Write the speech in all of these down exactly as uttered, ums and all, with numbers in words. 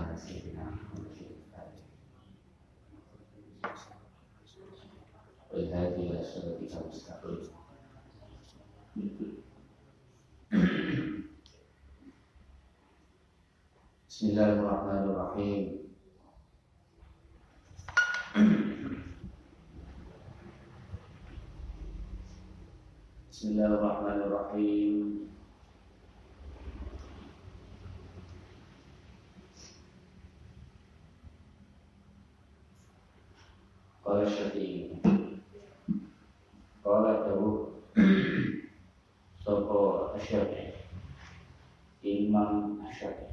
على سيدنا محمد والهادي إلى صراطك المستقيم. Bismillahirrahmanirrahim. Bismillahirrahmanirrahim. Qala Syafi'i. Qala Dawud. Sapa Syafi'i. Imam Syafi'i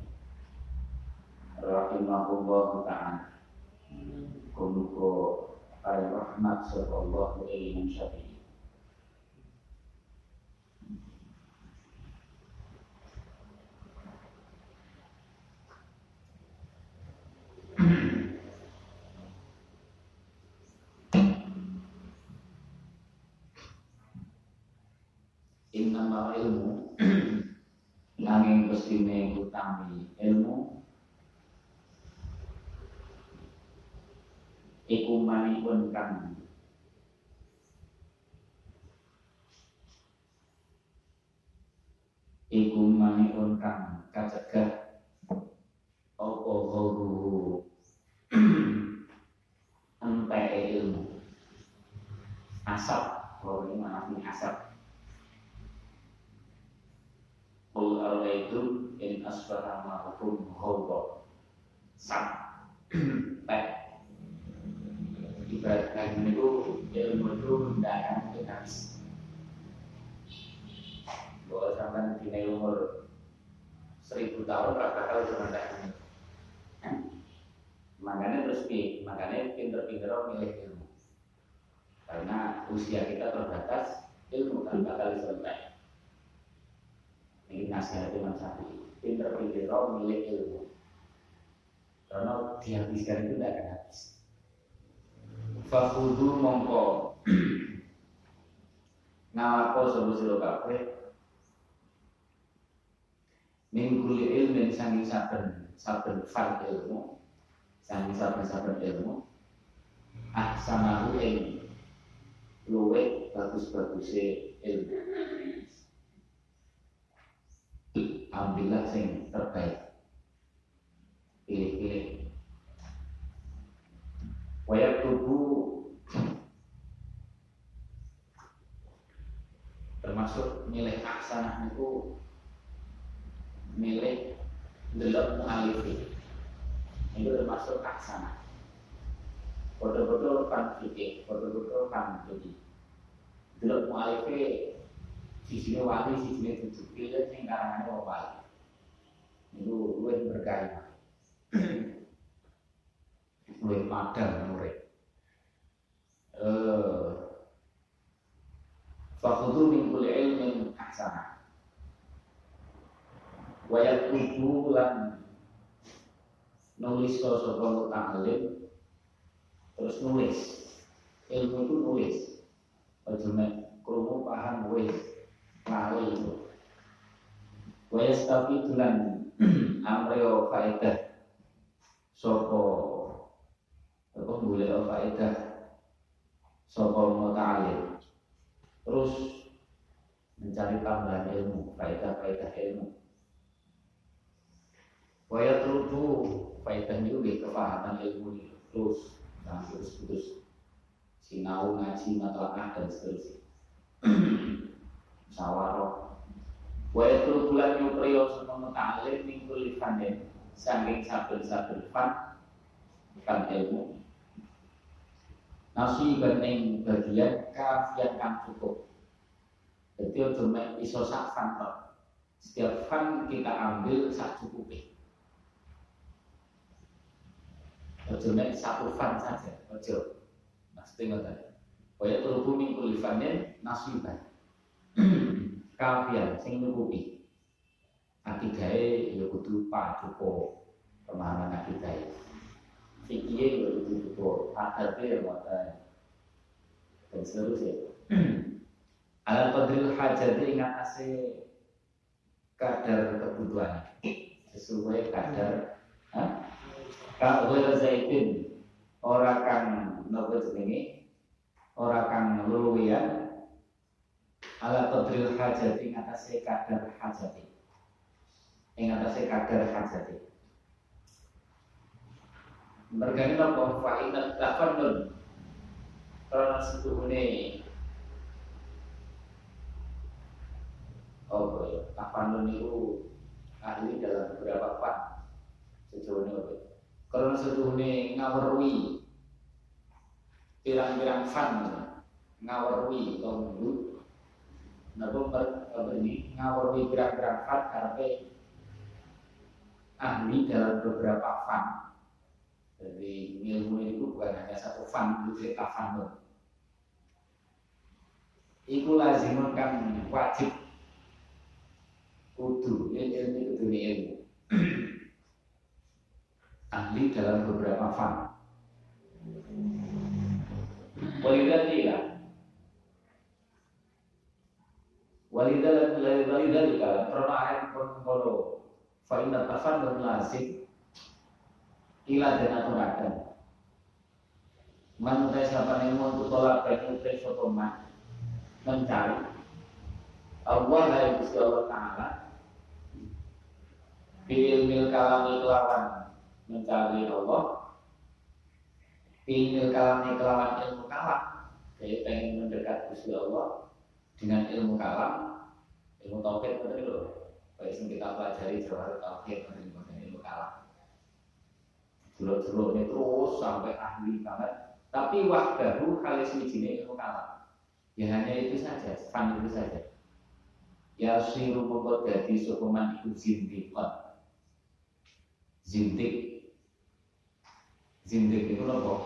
rahimahullah ta'ala. Kumuko ay rahmat sallallahu alaihi Syafi'i. Innama ilmu nanging pestine utami ilmu iku manipun kang iku manipun kang kacegah apa guru entek ilmu asap kalau ini mana asap. Qul ara'aytum in asbaha ma'akum ghawra sak pek ibaratkan itu ilmu itu tidak akan mungkin habis. Bahwa sampai di umur seribu tahun tak bakal cuma tak. Makanya terus pi, makanya pinter-pinter milih ilmu. Karena usia kita terbatas, ilmu kan bakal selesai. Ini nasihat Imam Syafi'i, pinter-pinter milih ilmu. Karena dihabiskan itu tidak akan habis. Fakudu mongko ngalapo sapa sira kabeh min kulli ilmin sanging saben saben fan ilmu, sanging saben-saben ilmu ahsanahu ing luwih bagus-baguse ilmu. Ambillah sing terbaik, pilih-pilih. Wayak tubuh termasuk milih aksanah itu milih delok mu'alifi itu termasuk aksanah. Foto-foto kan fikih, foto-foto kan jadi delok mu'alifi sisinya wali, sisinya tujuh pilih yang karangannya mau wali itu luwih berkah, luwih padang murid. Fakudu min kulli ilmin ahsana wa yaktubu lan nulis sapa muta'allim terus nulis ilmu itu nulis aja mek krungu paham wis lali itu wa yastafidu lan amreo faedah sapa apa boleh faedah sapa muta'allim terus mencari tambahan ilmu, faedah-faedah ilmu. Waya terudu faedah itu di kefahaman ilmu itu terus, nah terus-terus sinau ngaji matlaah dan seterusnya. Musyawarah. Waya terudu lan nyupriyo sama muta'alim minggu lifanin saking saben-saben fan kan ilmu. Nasiban ing bagian kafian kang cukup. Jadi cuma iso sak fan tok. Setiap fan kita ambil sak cukupnya. Cuma satu fan saja, ojo. Mesti ngoten. Kaya turubu minggu lifanin nasiban. Kafian sing nyukupi. Akidahe ya kudu paduka pemahaman akidahe. Fikih ya kudu cukup, adabe ya ngoten. Dan seterusnya. Ala qadril hajati ingat ase kadar kebutuhan sesuai kadar ha? Ka wala zaitun ora kang nopo jenenge ora kang luwian ala qadril hajati ing atase kadar hajati ing atase kadar hajati mergane nopo fa inna tafannun karena setuhune oh ya tafannun itu ahli dalam beberapa fan sejauh ini karena setuhune ngawerui pirang-pirang fan ngawerui tonggu nabo ini ngawerui pirang-pirang fan karena ahli dalam beberapa fan. Jadi ilmu itu bukan hanya satu fan, itu tafannun. Iku lazimun kan wajib kudu ilmu kudu ilmu ahli dalam beberapa fan. Walidhalika walidhalika walidhalika karena ayat kono fa inna tafannun lazim ila dan aturakan manusia siapa yang mau tolak bagi sotoman mencari Allah yang Gusti Allah Ta'ala ilmil kalami kelawan mencari Allah ilmil kalami kelawan ilmu kalam jadi pengen mendekat Gusti Allah dengan ilmu kalam ilmu tauhid betul loh baik yang kita pelajari jawab tauhid dengan ilmu kalam jelur-jelur ini terus sampai ahli banget. Tapi wahdahu kalis wijine ilmu kalam. Ya hanya itu saja, fan itu saja. Ya siru mongko dadi sokoman iku zindikon. Zindik. Zindik itu apa?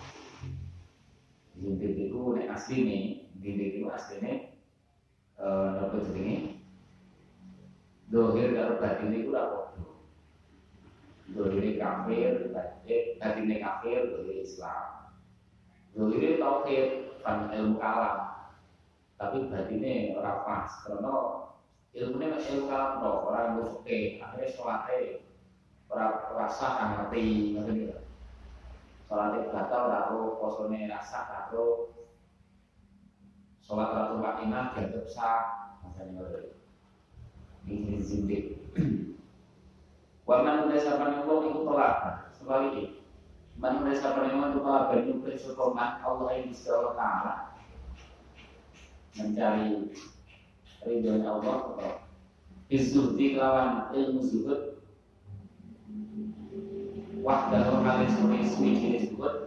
Zindik itu nek asline, zindik itu asline eh napa jenenge? Dohir karo batin itu apa? Dohiri kafir, batine kafir, dohiri Islam. Dohiri tauhid, fan ilmu kalam. Tapi batine ora pas, karena ilmune mek ilmu kalam tok, ora ilmu fikih. Akhire salate ora rasa kang ngerti, ngoten iki. Salate batal ora ro, posone rasa ora ro. Salat ora tumpah inah dianggap sah, makane ngoten. Iki zindik. Waman desa panengko iku tolak sebaliknya. Man desa panengko iku tolak banyu bersyukurman Allah yang Gusti Allah Ta'ala mencari ridho Allah atau izzuhdi kelawan ilmu zuhud wahdahu halis suwi jenis zuhud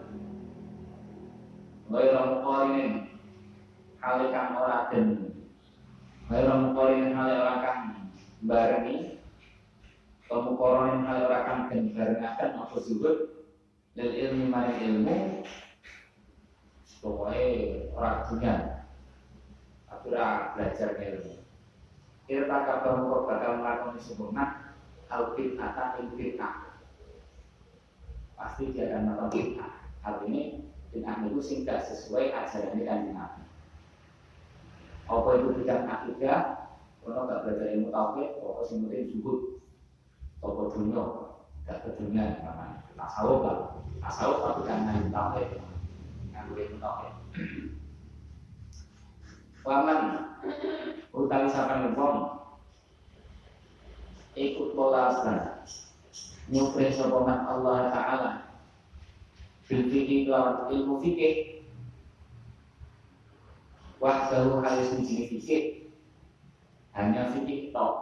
ghairu muqarinin halikan ora den ghairu muqarinin hal ora kang barengi pemukoronin hal orakan dan barengakan apa zuhud dan ilmu maring ilmu pokoknya orang dunia aku ora belajar ilmu irta kabar murah bakal melakukan sempurna al-bid atau il-bid'ah pasti dia akan melakukan bid'ah hal ini bid'ah itu sehingga sesuai ajaran Kanjeng Nabi apa itu bid'ah akidah kalau gak belajar ilmu tauhid pokoknya sing penting zuhud toko dunia, gak ke dunia namanya tasawuf lah, tasawuf tapi kan ngandung tauhid, ngandung ilmu tauhid. Waman utawi sapan wong ikut pola asal nyupre sopaman Allah Ta'ala bil fikih lawan ilmu fikih wahdahu halis menjadi fikih hanya fikih tok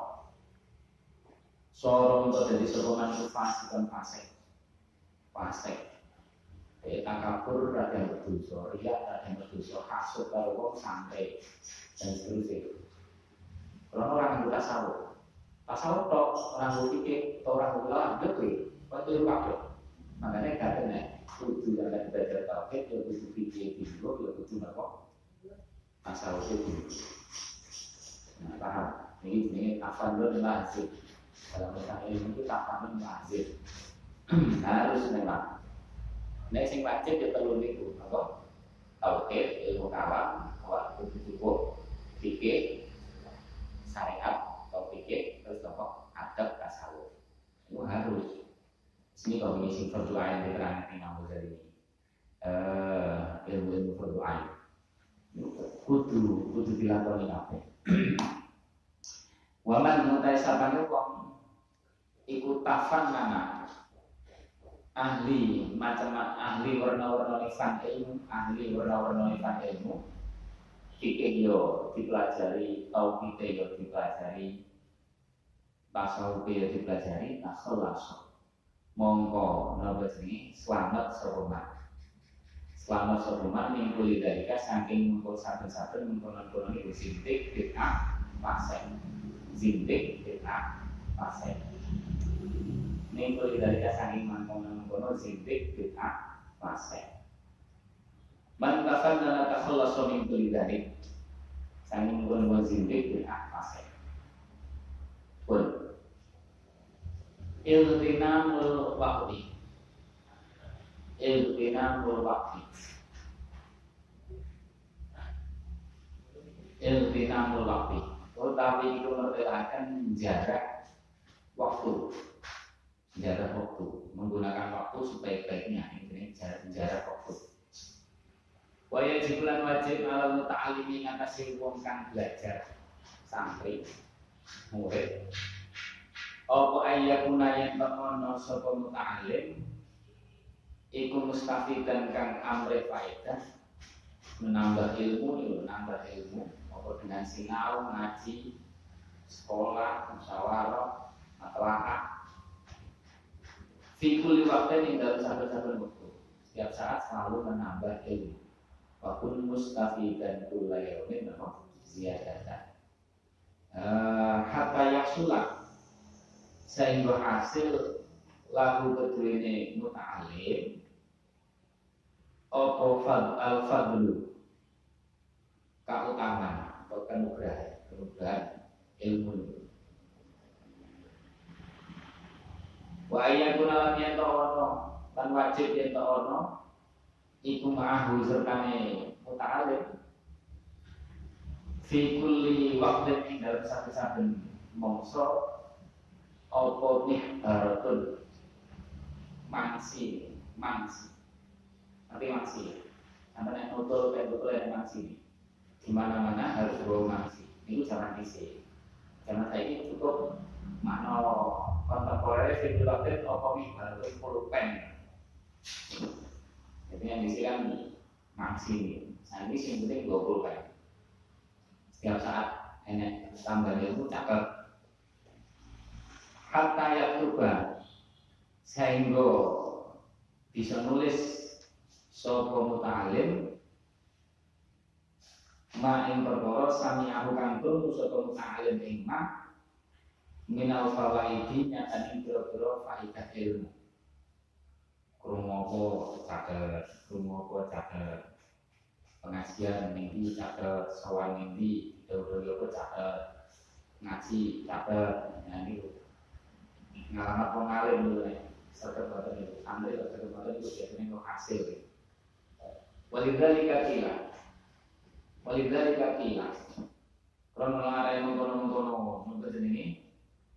sorong untuk jadi sokongan itu fasik dan fasik fasik kayak takabur ada yang berdosa riak ada yang berdosa hasut kalau orang santai dan seterusnya kalau orang yang tasawuf tasawuf tok orang berpikir atau orang berlawan betul betul kabeh makanya katanya kudu yang akan belajar tauhid ya kudu fikih dulu ya kudu apa tasawuf itu nah paham ini ini tafannun lazim dalam masalah ilmu itu tafannun lazim harus memang nek sing wajib ya perlu niku apa tauhid ilmu kalam awak kudu cukup fikih syariat atau fikih terus apa adab tasawuf itu harus Ini kalau ini sing fardu ain diterangkan Imam Ghazali ini. Eh, ilmu-ilmu fardu ain. Kudu kudu dilakoni kabeh. Waman mutai sapane wong iku tafan mana ahli macam ahli warna-warna fan ilmu, ahli warna-warna fan ilmu. Fikih yo dipelajari, tauhid yo dipelajari, tasawuf yo dipelajari, akhlak mongko napa jenenge selamat serumat. Selamat serumat mingkuli dalika saking mengko saben-saben mengkono-kono niku sintik bid'ah fasik. Sintik bid'ah fasik. Mingkuli dalika saking mengkono-kono sintik bid'ah fasik. Man kafan dana takhallasu min kulli dzalik. Saking mengkono sintik bid'ah fasik. Pun iltinamul waqti iltinamul waqti iltinamul waqti utawi itu mertelakan jarak waktu jarak waktu menggunakan waktu sebaik-baiknya ini jarak jarak waktu wajib lan wajib ala muta'alimi ngatasi wong kang belajar santri murid apa ayyakuna yang takono sapa muta'alim iku mustafidan kang amre faedah menambah ilmu menambah ilmu apa dengan sinau ngaji sekolah musyawarah matlaqah fi kulli waqtin ing dalam saben-saben waktu setiap saat selalu menambah ilmu wa kun mustafidan kulla yaumin ziyadatan uh, hatta yahsulah sehingga hasil lagu kedua muta'alim apa fad al fadlu keutamaan atau kenugrahan kenugrahan ilmu wa ayyakuna lam yanto'ono lan wajib yanto'ono iku ma'ahu sertane muta'alim fi kulli waqtin ing dalam saben-saben mangsa apa mihbaratun mangsi mangsi nanti mangsi sampai yang nutul kayak betul yang mangsi di mana-mana harus bawa mangsi itu jangan isi jangan saya ini cukup mana kontemporer sirkulatif apa mihbaratun pulpen jadi yang diisi kan mangsi nah ini yang penting dua puluh pen setiap saat enak tambah ilmu cakep hatta yaktuba sehingga bisa nulis sapa muta'alim ma ing perkara sami aku kanggo sapa muta'alim ing ma minal fawaidi nyatan ing pira-pira faedah ilmu krungu apa caket krungu apa caket pengajian ning iki caket sawan ning iki dawuh-dawuh apa caket ngaji caket nyanyi ngalamat pengalim dulu nih, serta badan itu, ambil serta badan itu biasanya itu hasil. Walidali kakila, walidali kakila. Kalau mengarah yang mengkono-mengkono untuk ini,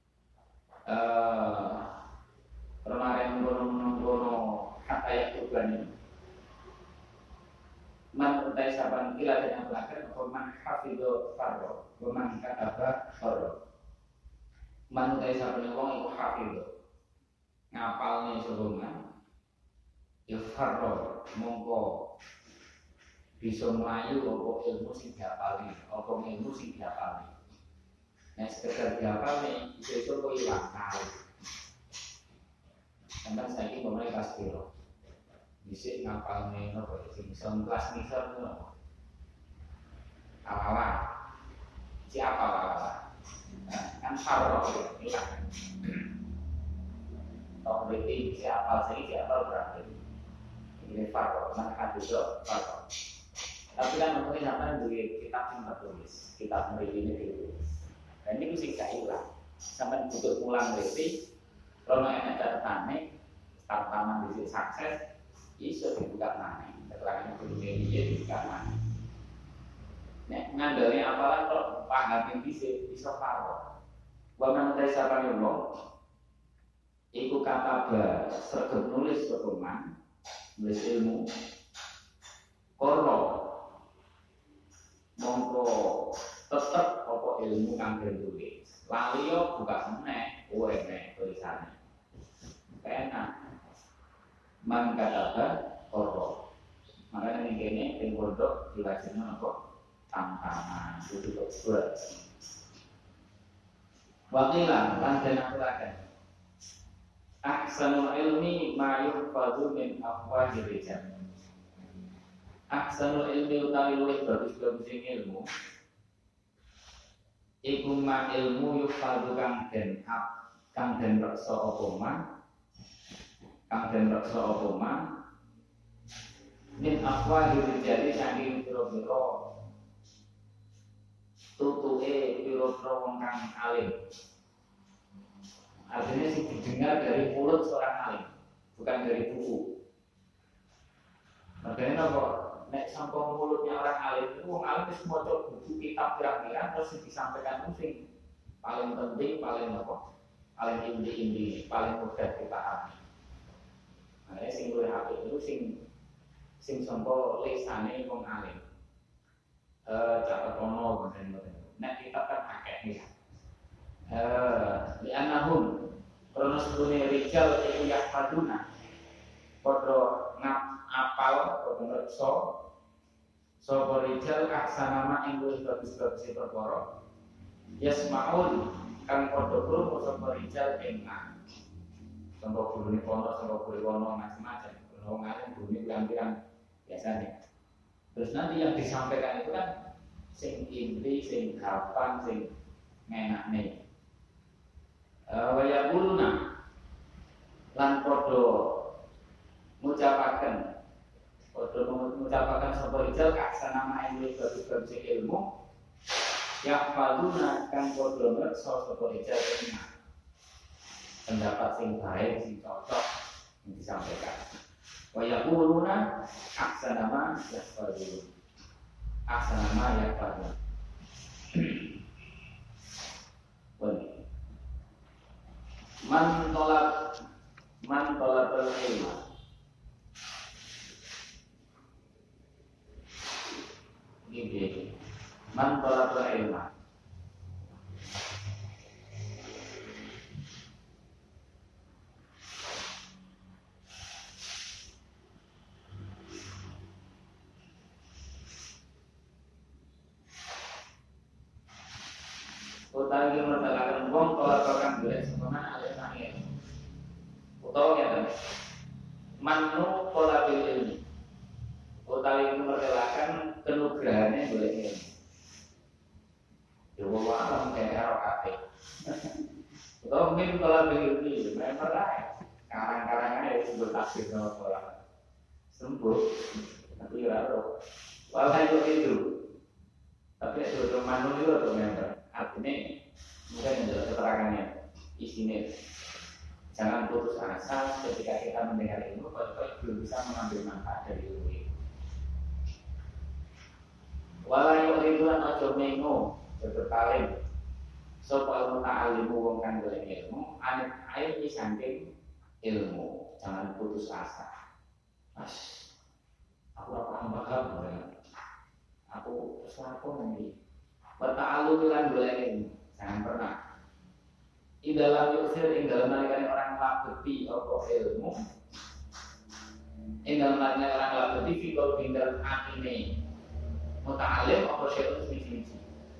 kalau mengarah yang mengkono-mengkono kata yang tujuan ini, man utai saban kila dan yang belakang, atau man hafidho farro, man kataba farro. Man utai saban wong iku hafidho ngapalne sebelumnya ya farro mongko bisa melayu apa ilmu sing diapali apa ilmu sing diapali nek sekedar diapali iso kok ilang kali sampeyan saiki pemain kelas piro dhisik ngapalne napa sing iso kelas ngisor ngono awal siapa awal kan farro ilang tau berarti siapa sih siapa berarti ini farro mana hadis farro tapi kan mungkin sampai dari kitab yang tertulis kitab mereka ini ditulis dan ini mesti gak hilang sampai butuh pulang berarti kalau enak catatannya tantangan di sukses iso dibuka mana keterangan dunia dia dibuka mana nek ngandalnya apalah kalau paham yang bisa bisa farro bahkan dari siapa yang belum iku kataba sregep nulis sopeman nulis ilmu koro mongko tetep apa ilmu kang ditulis lali yo buka meneh kowe nek tulisane enak man kataba koro makanya ini kene ing pondok dilajengno apa tantangan itu kok berat wakilah lan den aturaken ahsanul ilmi ma yuhfadhu min afwahir rijal. Ahsanul ilmi utawi luwih bagus-bagus ilmu iku ma ilmu yuhfadhu kang den hak kang den reksa apa ma kang den reksa apa ma min afwahir rijal saking pira-pira tutuke pira-pira wong kang alim. Artinya sih didengar dari mulut seorang alim, bukan dari buku. Makanya apa? Nek sampai mulutnya orang alim itu, orang alim itu maca buku kitab pirang-pirang terus disampaikan itu sing paling penting, paling apa? Paling inti-inti, paling mudah dipahami. Makanya sing luwih apik itu sing sing sampai lisane wong alim. Eh catat ono ngoten-ngoten. Nek kitab kan akeh nih. Eh, di anahum kronos dunia rijal iku yahfaduna padha ngap apal padha ngreksa sapa rijal aksanama ing luwih bagus-bagus perkara yasmaun kang padha krungu sapa rijal ing sapa gurune kono sapa gurune kono macam-macam wong alim gurune pirang-pirang biasanya terus nanti yang disampaikan itu kan sing inti sing gampang sing ngenakne waya buluna lan podo ngucapaken podo ngucapaken sapa rijal aksana main bagus-bagus ilmu ya faluna kang podo ngreksa sapa rijal pendapat sing baik sing cocok yang disampaikan waya buluna aksana ma ya faluna aksana ma ya faluna boleh man tolak man tolak ilmu ini man tolak ilmu utawi mertelakan wong tolak kang golek sempurna utawa ngeten manu pola bil ilmi utawi mertelakan kenugrahane golek ilmu yo wae alam kene karo kabeh utawa min pola bil ilmi memang ae karang-karangane disebut tafsir nama pola sembuh tapi ora ro wae itu tapi itu manu itu atau member artinya mungkin menjelaskan keterangannya isinya jangan putus asa ketika kita mendengar ilmu kalau belum bisa mengambil manfaat dari ilmu itu walayu ribuan ojo mengo berpaling sopa ilmu ta'alimu wong kang golek ilmu anit air di samping ilmu jangan putus asa as aku apa paham aku sesuatu nanti Wata'alu bilang golek jangan pernah. Di dalam yusir, di dalam nalikan orang labeti atau ilmu. Di dalam nalikan orang labeti fikul bindal akine muta'alim atau syai'un misi-misi.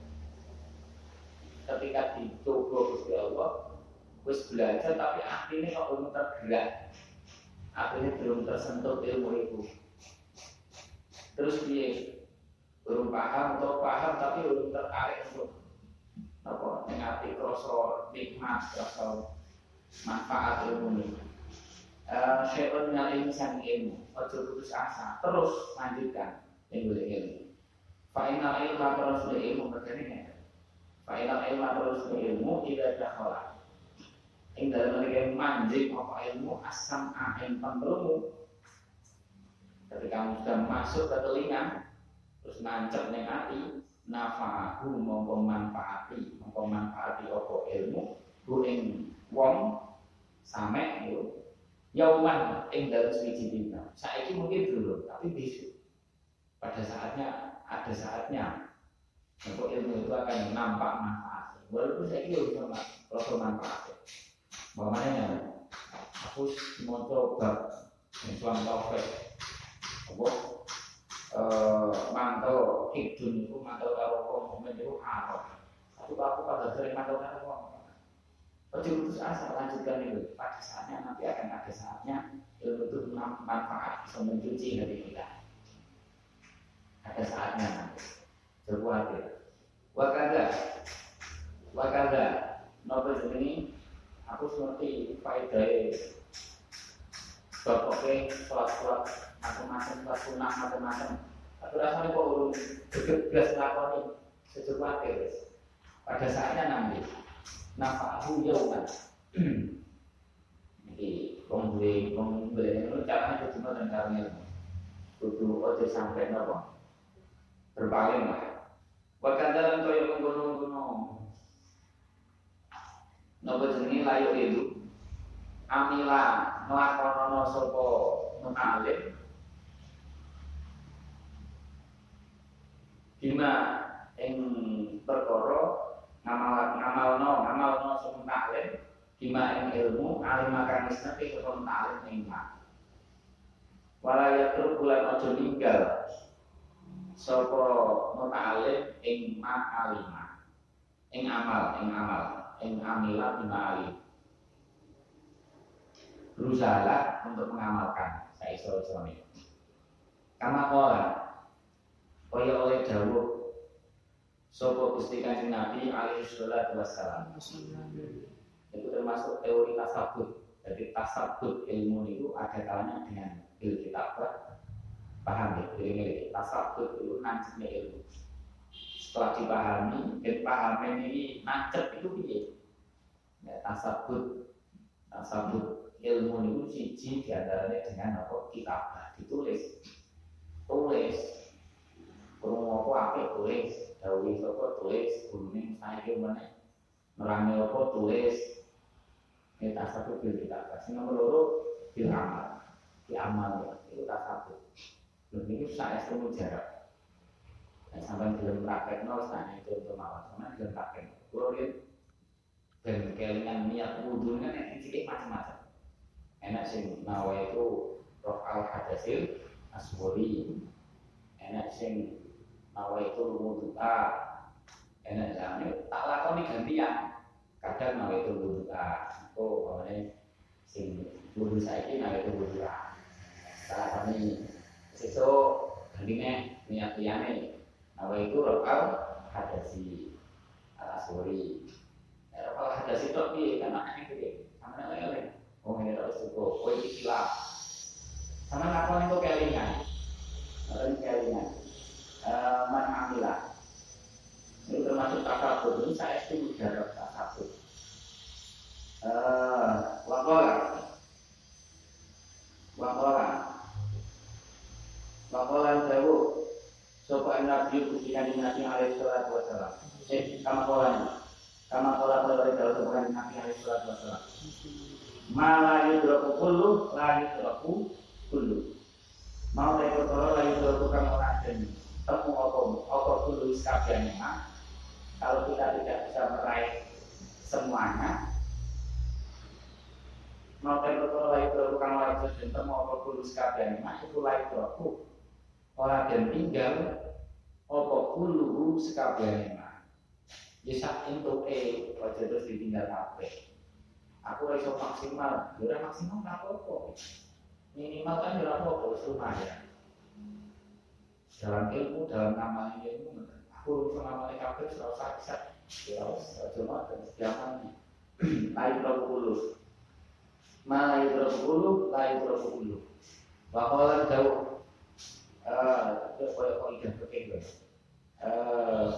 Ketika dicoba Gusti Allah, wis belajar tapi akhirnya kok belum tergerak, akhirnya belum tersentuh ilmu itu. Terus dia belum paham atau paham tapi belum tertarik untuk apa mengerti kroso nikmat kroso manfaat ilmu ini. Syai'un minal ilmi sang ilmu, ojo putus asa, terus lanjutkan yang boleh ilmu. Fa'inal ilma terus ilmu berkaitannya. Fa'inal ilma terus ilmu tidak dakhala. Ing dalam mereka manjing apa ilmu asam ain pengelmu. Ketika kamu sudah masuk ke telinga terus nancep ning ati nafa'ahu mongko manfaati mongko manfaati apa ilmu ku ing wong sampai itu yauman ing dalam suci dina. Saiki mungkin dulu, tapi besok pada saatnya ada saatnya untuk ilmu itu akan nampak manfaat. Walaupun saya kira bisa kalau manfaat. Bagaimana? Aku mau coba Islam taufik. Apa? Eh, mantel hidun itu mantel karo komen itu haram. Tapi aku pada sering mantel karo komen. Terus asa lanjutkan itu. Pada saatnya nanti akan ada saatnya ilmu itu manfaat bisa mencuci dari kita. Ada saatnya nanti. Berkuatir. Wakada, wakada. Novel ini aku seperti faedah. Bapak-bapak sholat-sholat macam-macam, sholat sunnah macam-macam. Tapi rasanya kok urung gegas lakoni sesuatu. Pada saatnya nanti. Nafahu yauman. Jadi pembeli pembeli itu caranya cuma dan caranya kudu ojo sampai nopo berpaling lah. Bahkan dalam koyo ngono-ngono. Nopo jenenge layu itu amila nglakonono sapa mutalim bima ing perkara ngamal ngamalno ngamalno sapa mutalim bima ing ilmu alim makan isnate sapa mutalim ing mak walaya tur bulan aja ninggal sapa mutalim ing mak alima ing amal ing amal ing amila bima alim berusaha untuk mengamalkan saya iso suami. Karena kola kaya oleh dawuh sapa Gusti Kanjeng Nabi alaihi salatu wassalam. Itu termasuk teori tasawuf. Jadi tasawuf ilmu itu ada kalanya dengan bil kitabah. Paham ya? Ini tasawuf itu nancepnya ilmu. Setelah dipahami, dan pahami ini nancep itu piye? Ya, tasawuf tasawuf ilmu itu siji diantaranya dengan apa kitabah ditulis tulis kurung apa apa tulis dawuh apa tulis gurune saiki meneh nerangi apa tulis ini tasawuf bil kitabah sing nomor loro bil amal di amal ya itu tasawuf lho iki saestu jarak nek sampeyan gelem praktekno sakjane contoh mawon sampeyan gelem praktek kulo yen ben kelingan niat wudu nek cilik macam-macam. Enak sing nawa itu roh al hadasil aswori, enak sing nawa itu wudu'a, enak jamnya tak lakoni gantian. Kadang nawa itu wudu'a, oh awalnya sing wudu saiki nawa itu wudu'a. Tak lakoni sesuk gantinya niat liyane, nawa itu roh al hadasi aswori. Roh al hadasi itu piye kan aneh gede, sampeyan lele. Oh ini harus cukup, oh ini silap. Sama lakon itu kelingan, orang kelingan, man amilah. Ini termasuk tasawuf. Ini saya setuju jarak tasawuf. Wakola, wakola, wakola jauh. Sopo nabi kusikan nabi alaihi salatu wassalam. Eh, kama kolanya, kama kola kola jauh sopo nabi alaihi salatu wassalam. Malah yudroku kullu, la yudroku kullu. Mau rekor toro la yudroku kamu raden. Temu okom, okom kullu iskabian memang. Kalau kita tidak bisa meraih semuanya, mau rekor toro la yudroku kamu raden. Temu okom kullu iskabian memang. Itu la yudroku. Orang dan tinggal okom kullu iskabian memang. Bisa untuk eh, wajah terus ditinggal kabeh. Aku iso maksimal, ya maksimal nggak apa-apa. Minimal kan ya apa-apa, lumayan. Dalam ilmu, dalam nama ilmu, aku iso ngamalin kabeh serasa bisa. Ya harus cuma dan sediakan. Lain berpuluh, malah berpuluh, lain berpuluh. Bakalan jauh. Eh, koyo ikan peking gue. Eh,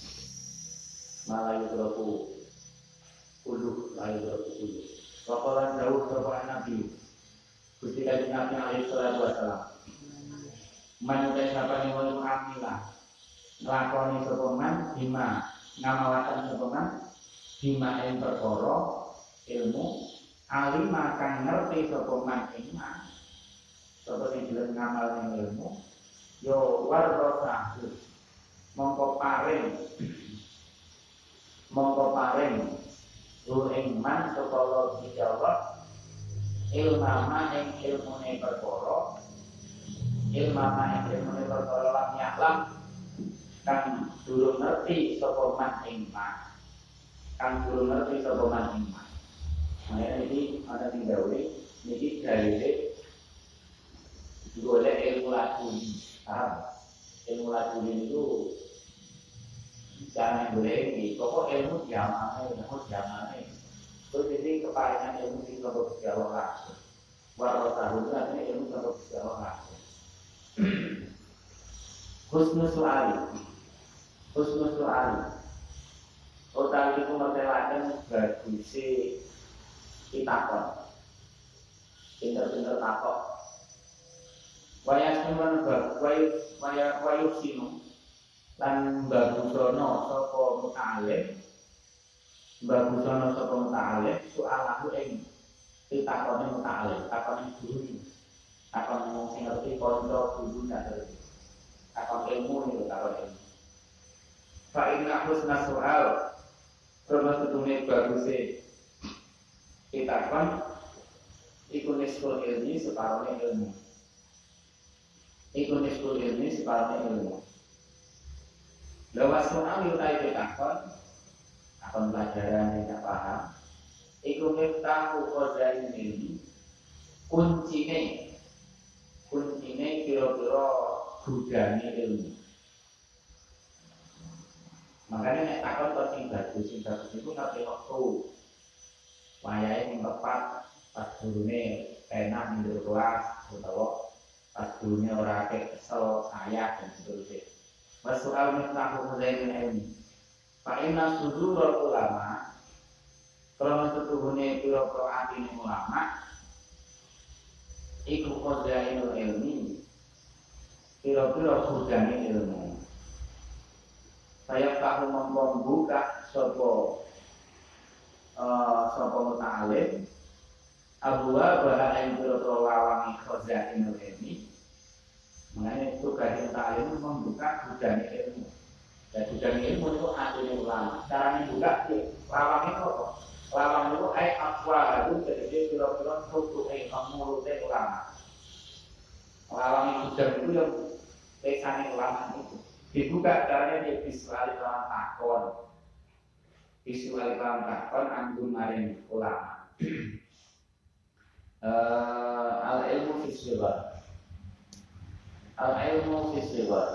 malah berpuluh. Ulu layu berpuluh. Wakolan jauh kepada Nabi. Gusti Kanjeng Nabi alaihi salatu wassalam. Manusia siapa yang mau mengamila, ngelakoni sepeman, bima ngamalakan sepeman, bima yang perkara ilmu, alim akan ngerti sapa man ing man sapa sing gelem ngamal ning ilmu yo warrosahu mongko paring mongko paring ru ing man sapa Allah dijawab ilmama ing ilmune perkara ilmama ing ilmune perkara lam yaklam kang durung ngerti sapa man ing man kang durung ngerti sapa man ing man. Makanya ini ada sing gawe niki gawe golek ilmu laduni. Paham? Ilmu laduni itu jangan boleh iki, pokok ilmu diamane, ilmu diamane. Terus jadi keparingan ilmu sing saka Gusti Allah langsung. Waro tahu artinya ilmu saka Gusti Allah langsung. Husnul su'ali. Husnul su'ali. Utawi iku mertelaken baguse kitakon, pinter-pinter takok. Waya semen bab, waya waya wayuk sinu, lan bagusono sapa muta'alim, bagusono sapa muta'alim, soalahu ing kitakone muta'alim, takone guru, takon wong sing ngerti kanca guru ndak takon ilmu niku takon ilmu. Fa inna husna soal, krono setune baguse kita kan ikut sekolah ilmu separuhnya ilmu ikut sekolah ilmu separuhnya ilmu lewat soal yutai kita kan akan pelajaran yang tidak paham ikut tahu kodain ilmu kuncine kuncine kira-kira gudangnya ilmu. Makanya nek takon kok sing bagus sing bagus itu ngerti waktu wayahe sing tepat pas gurune enak ning kelas utawa pas gurune ora kesel sayang dan seterusnya. Masalah mutahu mulain ilmu. Fa inna sudurul ulama kalau setuhune pira-pira atine ulama iku qadainul ilmi pira-pira gudane ilmu. Saya tahu membuka sopo uh, sopo muta'alim abwa bahana yang berotol lawangi khozainul ilmi. Mengenai tugas muta'alim membuka gudang ilmu. Dan gudang ilmu itu adanya ulama. Cara membuka lawang itu apa? Lawang itu ay akwa itu jadi kira-kira tutuke mulute ulama. Lawang gudang itu yang pesane ulama itu dibuka caranya dia visual lawan takon visual lawan takon anggun maring ulama. uh, al ilmu visual al ilmu visual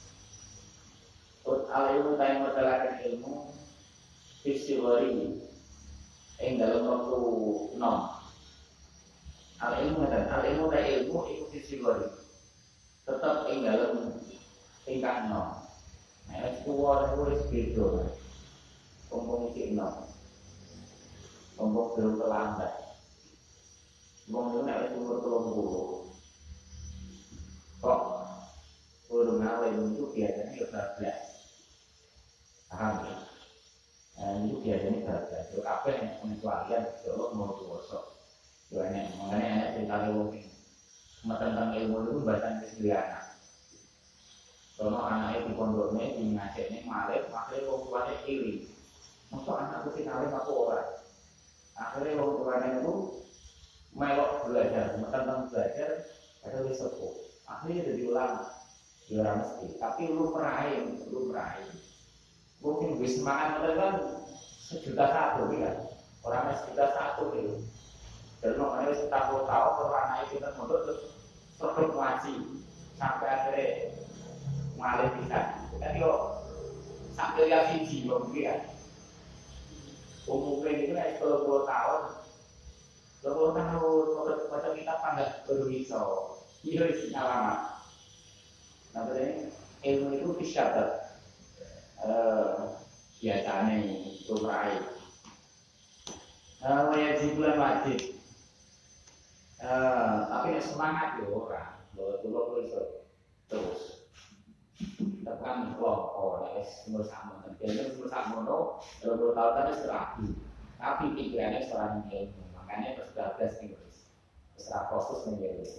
al ilmu taim matalakan ilmu visual ini yang dalam waktu nom al ilmu dan al ilmu dan ilmu itu visual tetap yang dalam tingkat nol. Nah, itu kuat itu beda. Kompong isi nol. Kompong belum terlambat. Kompong itu nak umur telung puluh. Kok urung awal itu biasanya dua belas. Paham ya? Nah, itu biasanya dua belas. Kalau apa yang pengecualian, kalau mau tuwasok. Makanya anak cerita ilmu ini. Tentang ilmu itu bahasa kesediaan. Kalau anaknya di pondoknya, di ngajaknya malek, akhirnya orang tuanya iri. Maksud anakku sih alim aku orang. Akhirnya orang tuanya itu melok belajar, tentang belajar, ada di sepuh. Akhirnya jadi ulama, dia orang mesti. Tapi lu meraih, lu meraih. Mungkin bisa makan mereka kan sejuta satu kan, orang sejuta satu gitu. Dan makanya setahu tahu kalau anaknya kita mondok terus terus ngaji sampai akhirnya malih bisa, tapi kok sampai lihat siji mungkin umumnya itu naik sepuluh puluh tahun, sepuluh tahun macam kita panggil baru bisa, itu isinya lama. Nah, berarti ilmu itu bisa ter, biasanya itu meraih. Wajib bulan wajib, tapi semangat ya orang, bahwa dulu terus. Tekan kelompok, ya, semua sama. Dan semua sama, no, kalau tahun tadi serapi, tapi pikirannya seorang ilmu. makanya terus bablas nih guys. Terus proses nih guys.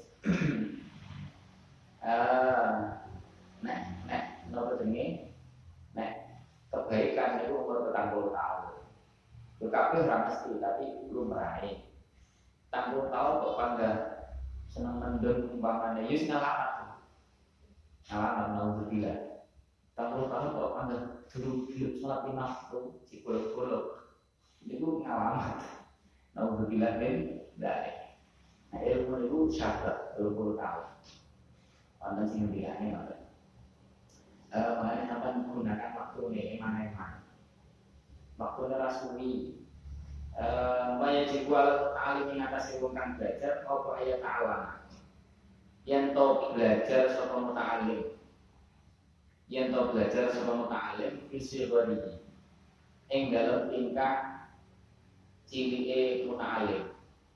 Eh, nek nek nopo jenenge? Nek kebaikan itu umur petang puluh tahun. Tapi orang mesti, tapi belum meraih. Tanggung tahun kok panggah senang mendem umpamanya, yus ngalamat, ngalamat naudzubillah. Tanggung tahun kok panggah dulu hidup sholat lima waktu, cikuluk-kuluk, itu ngalamat. Naudzubillah min dari. Nah ilmu itu syarat dua puluh tahun. Wonten sing bilangnya ngoten. Eh makanya sampai menggunakan waktu ini mana-mana. Waktu rasuli Waya jiwal alim mengatasi wong kang belajar apa ayat ta'alam yen to belajar sapa muta'alim yen to belajar sapa muta'alim isi bari ing dalem tingkah cilike muta'alim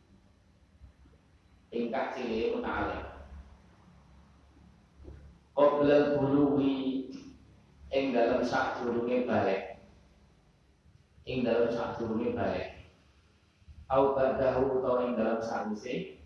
tingkah cilike muta'alim qoblal buluwi ing dalem sadurunge balik ing dalem sadurunge balik au badahu utawa ing dalam sawise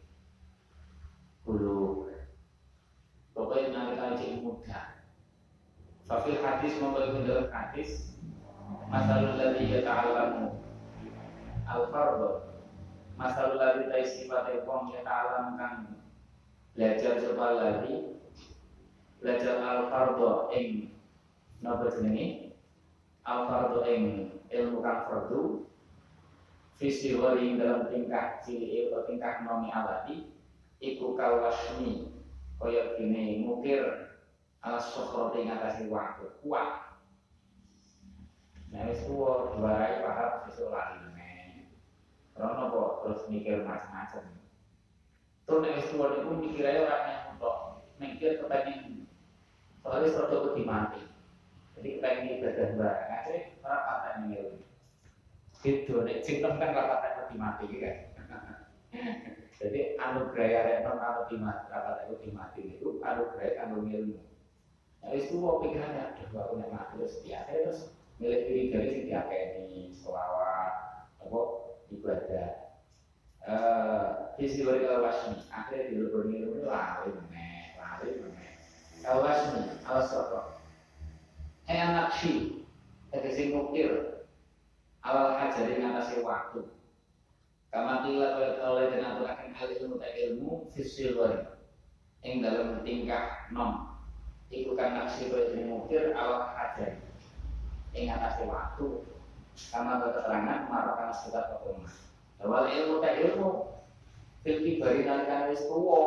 kulo pokoknya nalika cek muda fafil hadis mongko ing dalam hadis masalul ladzi yata'allamu al-fardhu masalul ladzi taisifate wong yata'allam kang belajar sapa ladzi belajar al-fardhu ing napa jenenge al-fardhu ing ilmu kang fardhu visi wali dalam tingkah cili atau tingkah nomi alati iku kawasmi koyok gini mukir alas sokro ing atasi waktu kuat nah wis tuwa diwarai paham sesuk lali meneh rono kok terus mikir macam-macam terus nek wis tuwa niku mikir ae ora nek untuk mikir kepengin soalnya suatu wedi mati jadi kepengin ibadah barang aja ora patek ngene gitu, nek cinta kan rapat aku mati kan. Jadi anugerah arek non aku mati, rapat aku mati itu anugerah anu ilmu. Nah itu kok pikirannya, aduh aku nek mati terus biasa terus milik diri dari sing diakeni selawat, apa ibadah. Eh, visi dari al-wasmi, akhirnya dileboni ilmu lali meneh, lali meneh. Al-wasmi, al-sokro. Eh anak si, tegesi mukir. Awal hajari ngatasi waktu kama kila oleh dan aturakan hal ilmu tak ilmu fisilwari yang dalam tingkah nom ikukan naksi berjadi mukir awal hajari yang ngatasi waktu kama keterangan marakan sekitar kekumah awal ilmu tak ilmu filki bari nalikan wis tuwo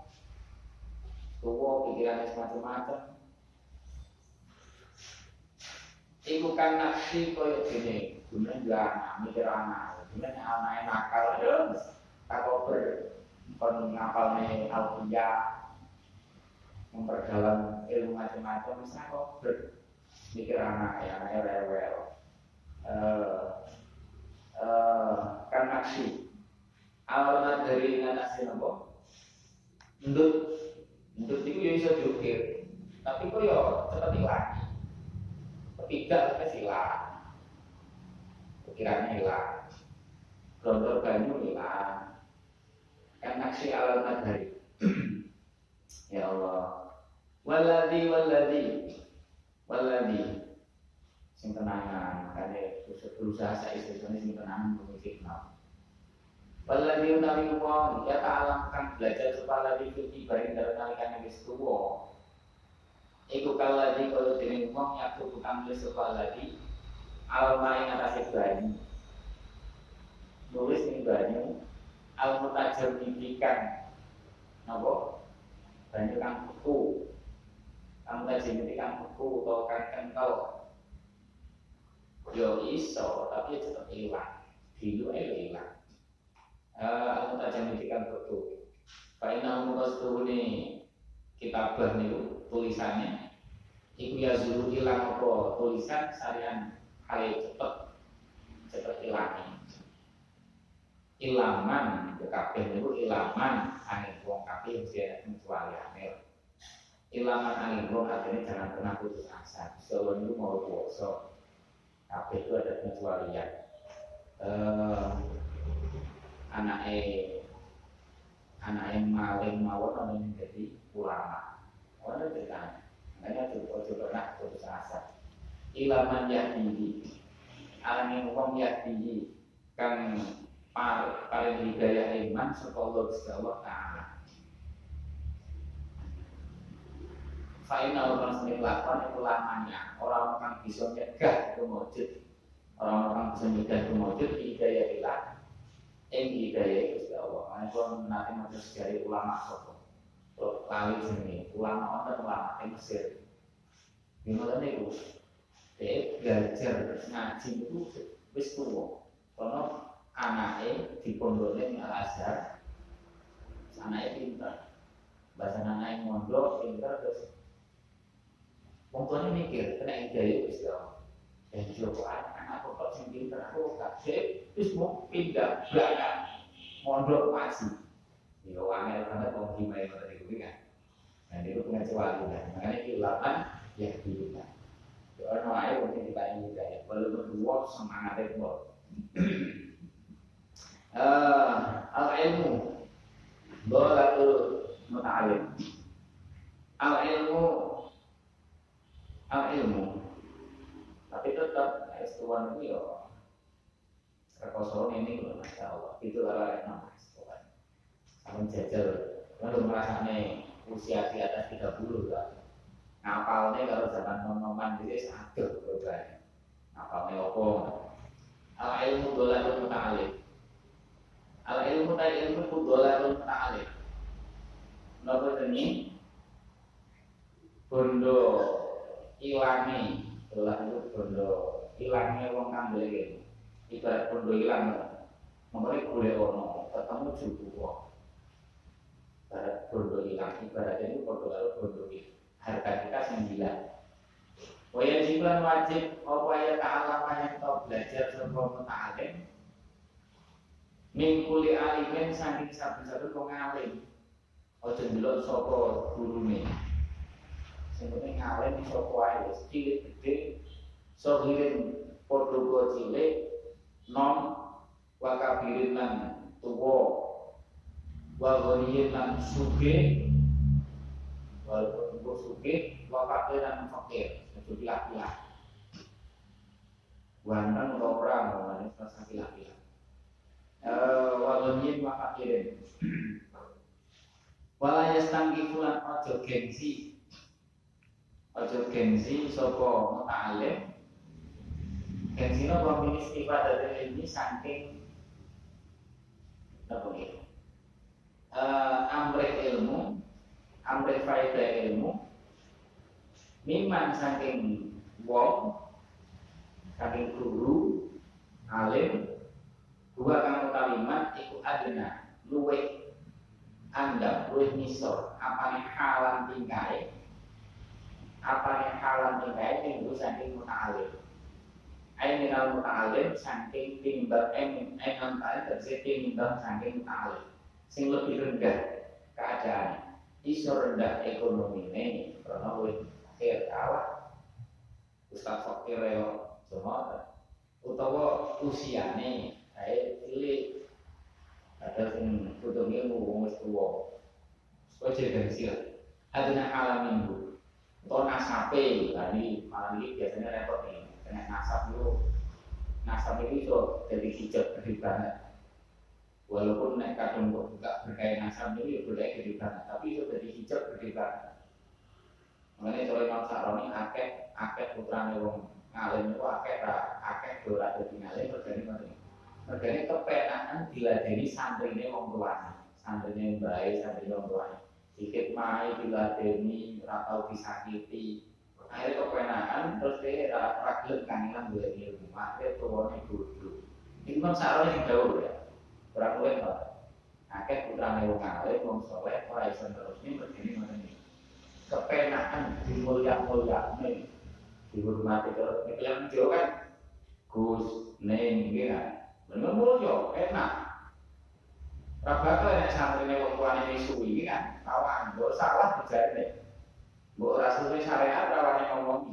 tuwo pikirannya semacam-macam ikukan naksi koyok gini kemudian juga anak, mikir anak, kemudian anak nakal, ya, tak koper, kon ngapalnya alfiyah, memperdalam ilmu macam-macam, misalnya koper, mikir anak, ya anaknya rewel, uh, uh, kan naksi, awalnya dari ngatasi nopo, ndut, ndut itu ya bisa diukir, tapi kok ya cepat hilang, ketiga kita silang. Pikirannya hilang, gondor banyu hilang, kan naksi alal madhari. Ya Allah, waladi waladi waladi, sing tenangan, karena berusaha saya istiqomah sing tenangan memiliki kenal. Waladi utawi wong ya ta'alamkan belajar supaya lagi ibaring dalam nalikan yang istuwo. Iku kaladi kalau dene wong yang bukan nulis supaya lagi alma yang atas banyu nulis ini banyu al mutajam mimpikan nopo banyu kang beku kang mutajam mimpikan beku atau kang kental yo iso tapi tetap hilang dulu aja hilang al mutajam mimpikan beku kain nama mukas ini kitabah nih tulisannya iku ya zulu hilang apa tulisan sarian kali cepet cepet hilangi ilaman ke kabeh niku ilaman angin wong kabeh mesti kecuali aneh ilaman angin wong artinya jangan pernah putus asa selalu niku mau puasa kabeh itu ada pengecualian eh anake anake maling mawon ana ning dadi ulama. Ora ceritane. Makanya coba pernah putus asa. Ilaman yahdi. Alane wong yahdi kang paling hidayah iman saka Allah subhanahu wa ta'ala. Faina orang sendiri lakon itu lamanya orang orang bisa nyegah itu mujud, orang orang bisa nyegah itu mujud hidayah ilah, yang hidayah itu Allah. Karena kalau nanti masuk dari ulama sopo, lali sini ulama orang ulama yang Mesir, gimana nih bu? Dia belajar ngaji itu wis tua, karena anaknya di pondoknya Al Azhar, anaknya pintar, bahasa anaknya mondok pintar terus. Wong tuane mikir, kena hidayah wis to. Dan coba anak kok sing pinter aku kabeh wis mau pindah belakang. Mondok masih. Ya wangel banget wong dimai ngoten iku kan. Nah itu pengecewa kan. Makanya iki ulaman ya kita. Ya ono ae wong sing diparingi hidayah, walaupun dua semangate kok. Eh, al-ilmu dolatul muta'alim. Al-ilmu al ilmu, tapi tetap S dua itu ya rekosoran ini loh, masya Allah. Itu kalau ada nama S dua, kamu jajal, kamu merasanya usia di atas tiga puluh lah. Ngapalnya kalau zaman nonoman itu satu berubah. Ngapalnya apa? Al ilmu dolatul muta'alim. Al ilmu tak ilmu dolatul muta'alim. Nopo ini bondo ilangi, dolah itu bondo ilangnya wong kang dhewe. Ibarat bondo ilang, mengko boleh ono ketemu jubuh. Ibarat bondo ilang, ibaratnya itu bondo karo bondo iki. Harga kita sembilan. Waya jiban wajib apa ya ta'alama yang tau belajar sapa muta'alim. Mingkuli alimen saking saben-saben wong alim. Aja ndelok sapa gurune. Sebenarnya ngawen iso kuai wis cilik gede so hirin podo cilik nom wa kabirin lan tuwa wa ghaniyin lan sugih walaupun tuwa sugih wa fakir lan fakir itu pilih-pilih wanang ora ngomongane rasa pilih-pilih eh wa ghaniyin wa fakirin wala yastangki fulan ojo gengsi ojo gengsi sapa muta'alim. Gengsi napa min istifadah dari ini saking napa iki? Eh amrih ilmu, amrih faedah ilmu. Miman saking wong, saking guru, alim, dua kang utaliman iku adena luwih andap, luwih misor, apane halan tingkae. Apa yang halam tingkai minggu saking muta'alim. Ain minal muta'alim saking timbang em enam kali terus timbang saking muta'alim. Sing lebih rendah keadaan, iso rendah ekonomi ini, karena wis akhir kalah. Ustaz fakir yo semua, utawa usiane, ae cilik. Ada sing kudu ilmu wong wis tuwa. Ojo gengsi. Aduna halam minggu. Atau nasape, tadi malam ini biasanya repot nih, kena nasab itu, nasab itu so jadi hijab gede banget. Walaupun naik kadang kok buka berkait nasab itu ya berkait gede banget, tapi itu jadi hijab gede banget. Makanya kalau Imam Sa'roni akeh akeh putrane wong ngalim itu akeh akeh dora dadi ngalim mergane ngoten. Mergane kepenaan diladeni santrine wong tuane, santrine mbae, santrine wong tuane. Dikit mai diladeni ora tau disakiti. Akhirnya kepenaan terus dia ragil kangenan golek ilmu. Akhirnya tuwane bodoh. Imam Sa'roni sing dawuh ya. Ora kuwi kok. Akeh putrane wong alim, wong saleh ora iso terusne begini ngoten iki. Kepenaan dimulia-mulyakne, dihormati terus. Nek yang Jawa kan Gus, Neng iki kan. Bener mulya, enak. Bakal nek santrine wong tuane misuwi iki kan kawan, mbok salah dijarene. Mbok rasune syariat rawane ngomongi.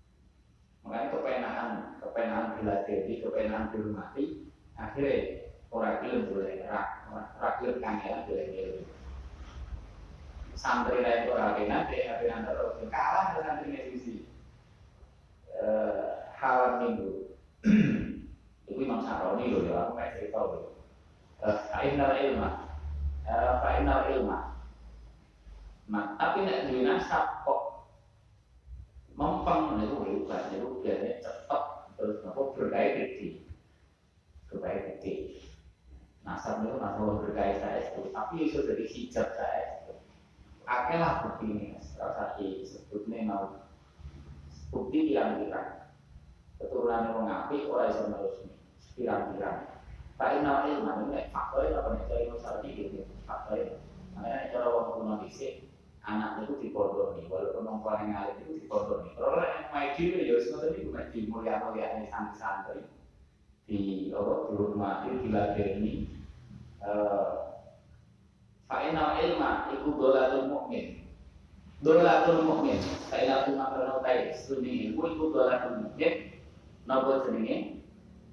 Makanya kepenaan, kepenaan diladeni, kepenaan dihormati, akhirnya ora gelem boleh ora ora gelem kangelan boleh gelem. Santri lain ora kenan deh apian terus kalah dengan santri sisi. Eh hal minggu. Itu Imam Syafi'i lho ya aku kayak cerita lho. Eh ainal ilma. Eh ainal ilma. Nah, tapi nek duwe nasab kok mempeng niku hebat niku biasanya cepet terus nopo berkait gede. Berkait gede. Nasab itu nasab berkait saya itu, tapi itu dari hijab saya itu. Akhirnya bukti ini, salah satu sebutnya mau bukti pirang-pirang. Keturunan orang ngapi orang bisa menerusnya pirang-pirang. Pak Inal ilmu ini faktornya apa nih? Cara ilmu sardi gitu, faktornya. Makanya cara orang kuno disik anak itu dipondoni, walaupun orang paling ngalim itu dipondoni. Kalau yang main diri ya sebenarnya itu main di mulia-mulia santri-santri di apa di rumah itu diladeni. Fa'inal ilma iku dolatul mu'min. Dolatul mu'min. Fa'inal ilma karena utai studi ilmu iku dolatul mu'min. Napa jenenge?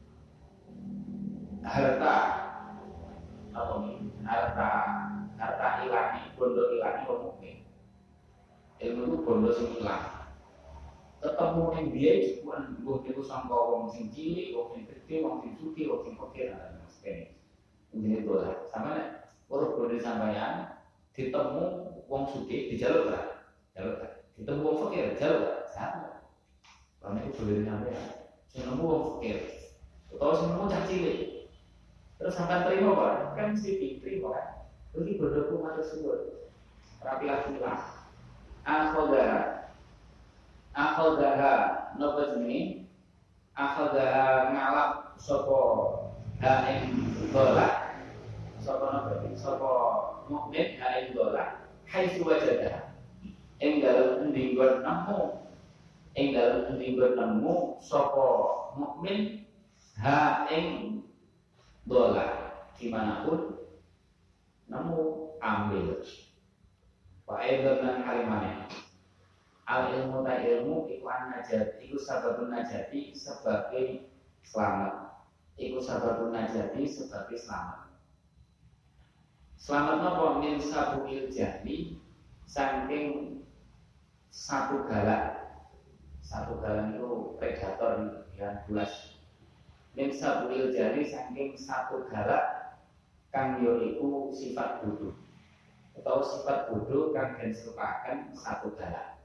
Harta apa nih? Harta harta ilani, bondo ilani wong mukmin. Ilmu itu bondo sing ilang. Ketemu ning biye cukup mbuh niku sangka wong sing cilik, wong sing gedhe, wong sing sugih, wong sing fakir lan sebagainya. Ini dolar. Sama urut bondo sampeyan ditemu wong sugih dijaluk ora? Jaluk ora. Ditemu wong fakir jaluk ora? Sama. Karena itu boleh sampeyan. Sing nemu wong fakir. Utawa sing nemu cah cilik. Terus sampai terima Pak, kan mesti diterima kan. Ini berdoa matur suwun. Rapilah silah. Akhodaha. Akhodaha napa jenenge? Akhodaha ngalap sapa ha ing dola. Sapa napa? Sapa mukmin ha ing dola. Haitsu wajadaha. Ing dalem endi nggon nemu. Ing dalem endi nggon nemu sapa mukmin ha ing dola dimanapun nemu ambil. Wa aidan lan kalimane al ilmu ta ilmu iku an najat iku sababun najati sebagai selamat. Iku sababun najati sebagai selamat. Selamat napa min sabuil jahli saking satu galak. Satu galak itu predator yang bulas. Min sabuil jari saking satu galak kang yo iku sifat bodoh atau sifat bodoh kang den serupaken satu galak.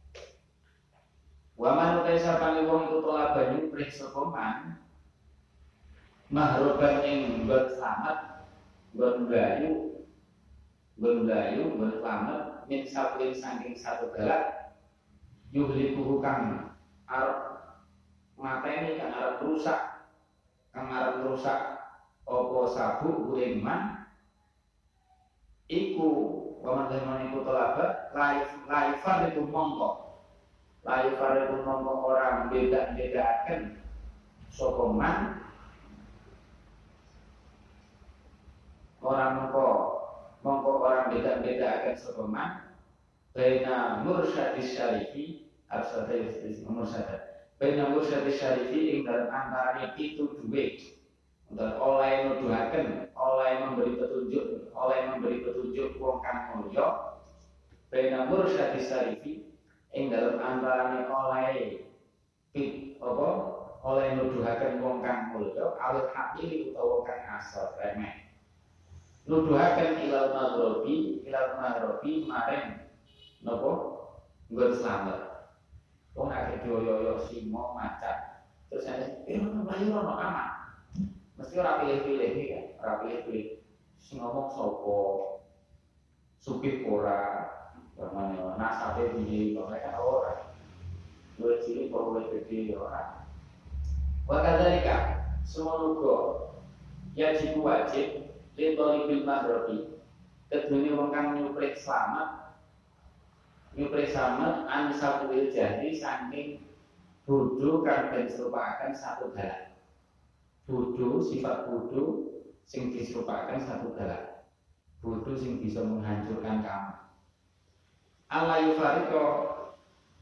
Wa man utai sapane wong iku tola banyu prih sapa man mahroban ing nggon slamet nggon mlayu nggon mlayu nggon slamet min sabuil saking satu galak yuhliku kang arep mateni kang arep rusak kang arep rusak apa sabu kuring man iku waman zaman iku tolabat laif laifar itu mongko laifar itu mongko orang beda-bedakan sapa man orang mongko mongko orang beda-bedakan sapa man baina mursyadis syarifi absadis mursyad baina mursyadis syarifi ing dalam antara itu duwe untuk oleh nuduhaken, oleh memberi petunjuk, oleh memberi petunjuk wong kang mulya, bena mursyadis syarifi, ing dalam antarane oleh pit apa, oleh nuduhaken wong kang mulya, alih hakili utawa wong kang asal remeh. Nuduhaken ilal maghrobi, ilal maghrobi maring napa? Nggon slamet. Wong akeh dioyo-oyo simo macan. Terus saya, "Eh, mlayu ono aman." Mesti ora pilih-pilih iki kan, ora pilih-pilih. Sing ngomong sapa? Sugih ora, namanya nasabe piye, mereka ora. Luwih cilik apa luwih gedhe ora. Wa kadzalika, semono ya jiku wajib litoli bil maghribi. Kedune wong kang nyuprik slamet, nyuprik slamet an sabuil jahri saking bodho kang den serupaken satu galak. Bodoh, sifat bodoh sing diserupakan satu galak. Bodoh sing bisa menghancurkan kamu. Allah yufariko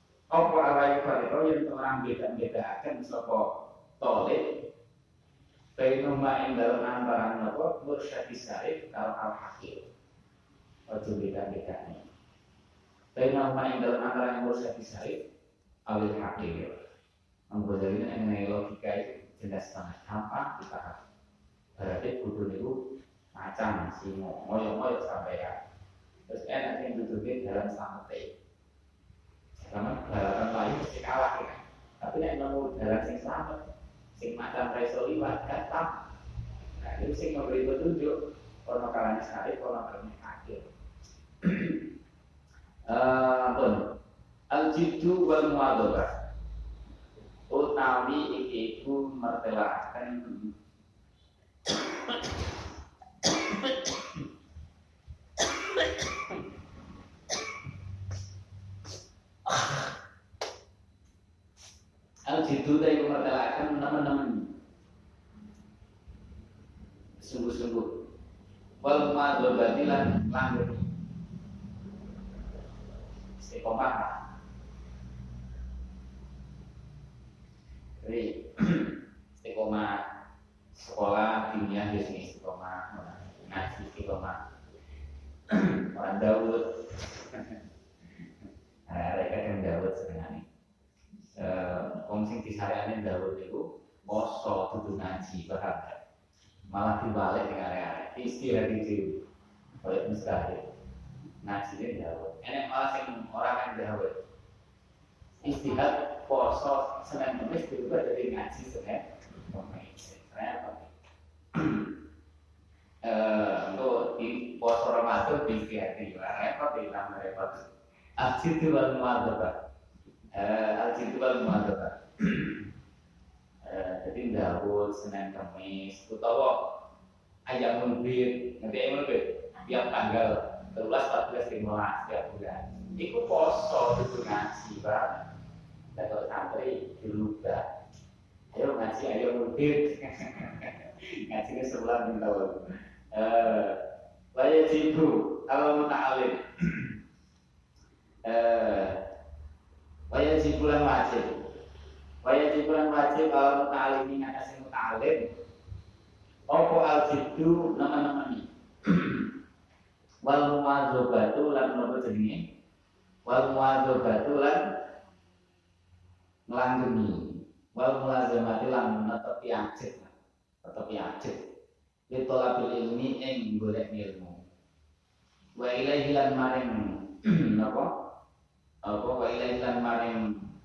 apa Allah yufariko yang orang beda-bedakan sapa tolik Bainuma ing dalem antara napa mursyadi syarif karo al-hakim. Ojo beda-bedane. Bainuma ing dalem antara mursyadi syarif awil hakim. Anggo dalile nek logika itu jelas banget apa dipaham. Berarti kudu niku macam sing moyo-moyo sampeyan. Terus enak yang duduknya dalam sampai karena balapan lain mesti kalah ya. Tapi nek nemu dalam sing selamat sing macam raiso liwat gatam. Nah itu sing memberi petunjuk ono kalane sekali ono kalane akhir. Eh pun al-jiddu wal muadzabah utawi iki iku mertelaken al-jiddu dari mertelaken teman-teman sungguh-sungguh wal muadzabati lan langgeng istiqomah. Jadi istiqomah sekolah dunia di sini istiqomah, ngaji istiqomah. Orang Daud, mereka yang Daud sebenarnya. Wong sing disayane Daud itu poso dudu ngaji paham. Malah dibalik dengan area istirahat itu oleh mustahil. Ngaji ini Daud. Enak malah sing orang yang Daud. Istihad poso Senin Kamis juga jadi ngaji Senin Kamis. Kenapa? Untuk di poso Ramadan di istihad repot di lama repot. Al-jiddu wal muadzabah. Al-jiddu wal muadzabah. Jadi Daud Senin Kamis utawa ayam bid, nanti ayam bid tiap tanggal sebelas, empat belas, lima belas tiap bulan. Iku poso itu ngaji banget. Dan kalau santri diluga, ayo ngaji, ayo mudid, ngajinya sebulan tahun. Wajib jibu, kalau muta'alim, wajib jibulan wajib, wajib jibulan wajib kalau muta'alim ini ngasih muta'alim. Opo al-jiddu nama-nama ini. Wal muadzabatu lan nopo jenenge? Wal muadzabatu lan ngelanggeni wal mulazamati lan netepi ajeg netepi ajeg itu labil ilmi ing golek ilmu wa ilaihi lan maring napa apa wa ilaihi lan maring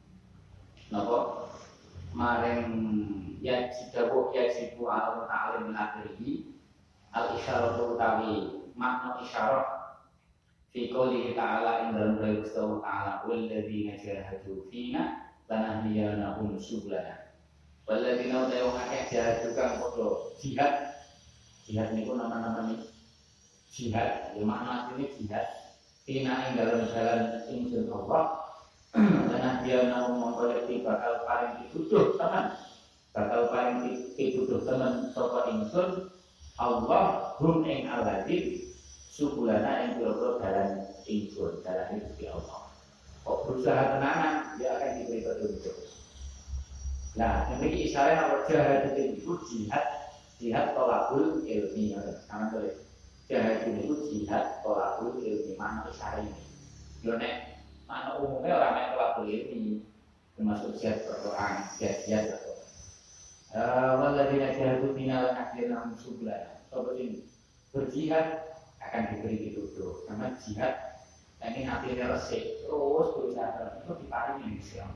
napa maring ya jidawu ya jibu al ta'alim akhirih al isyaratu utawi makna isyarah fi qouli ta'ala ing dalam qawli ta'ala wal ladzina jahadu fina lanahdiyannahum subulana. Walladzina utawa akeh jihad tukang padha jihad. Jihad niku nama-nama ini jihad, ya makna artine jihad. Tina ing dalam jalan ingsun Allah. Lanahdiyannahum mongko bakal paring pituduh teman. Bakal paring pituduh teman sapa ingsun Allah hum ing alladzi subulana ing pira-pira dalan ingsun, dalan Gusti Allah. Kok berusaha tenanan, dia akan diberi petunjuk. Nah, ini isyarat apa jihad itu jihad, jihad tolakul ilmi. Sama tulis, jihad itu jihad tolakul ilmi. Mana isyarat ini? Yonek, mana umumnya orang yang tolakul ilmi, termasuk jihad perang, jihad-jihad atau. Waladina jihadu final akhirnya musuhlah. Sobat ini berjihad akan diberi petunjuk. Karena jihad ini hatinya resik, terus berusaha itu diparingi Islam.